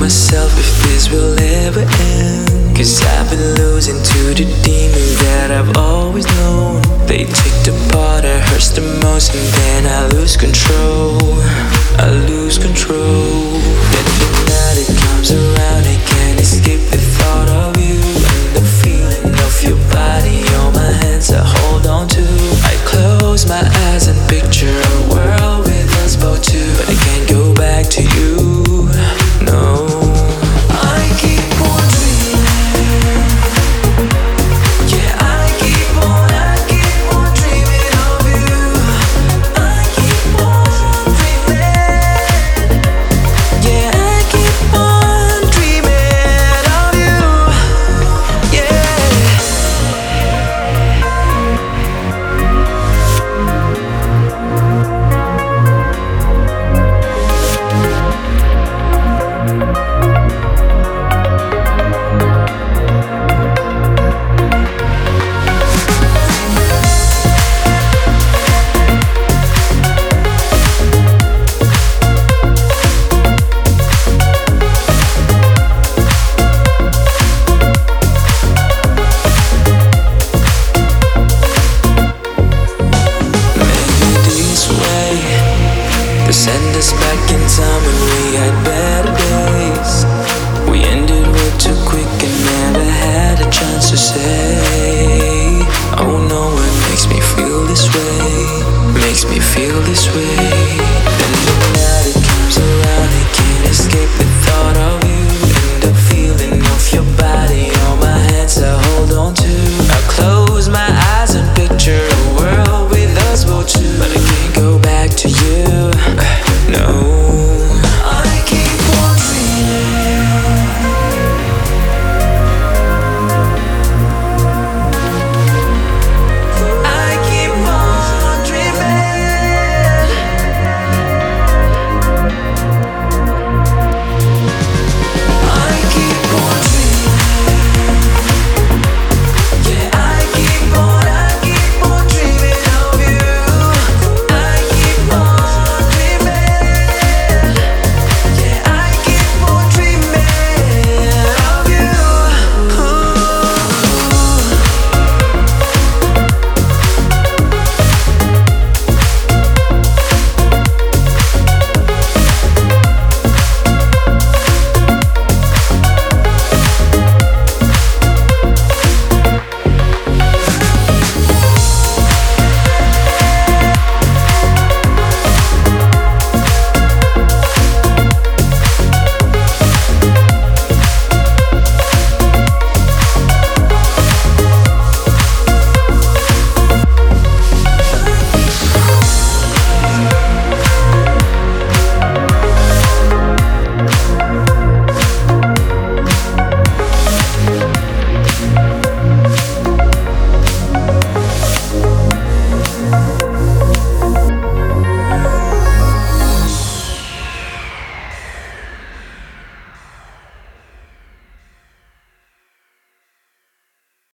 myself if this will ever end. Cause I've been losing to the demons that I've always known. They take the part that hurts the most, and then I lose control. I lose control. Then the night it comes around, I can't escape the thought of you and the feeling of your body on my hands I hold on to. I close my eyes and picture a world with us both too, but I can't go back to you. No. I keep on dreaming. Yeah, I keep on dreaming of you. I keep on dreaming. Yeah, I keep on dreaming of you. Yeah. Send us back in time when we had better days. We ended way too quick and never had a chance to say, oh no, what makes me feel this way? Makes me feel this way.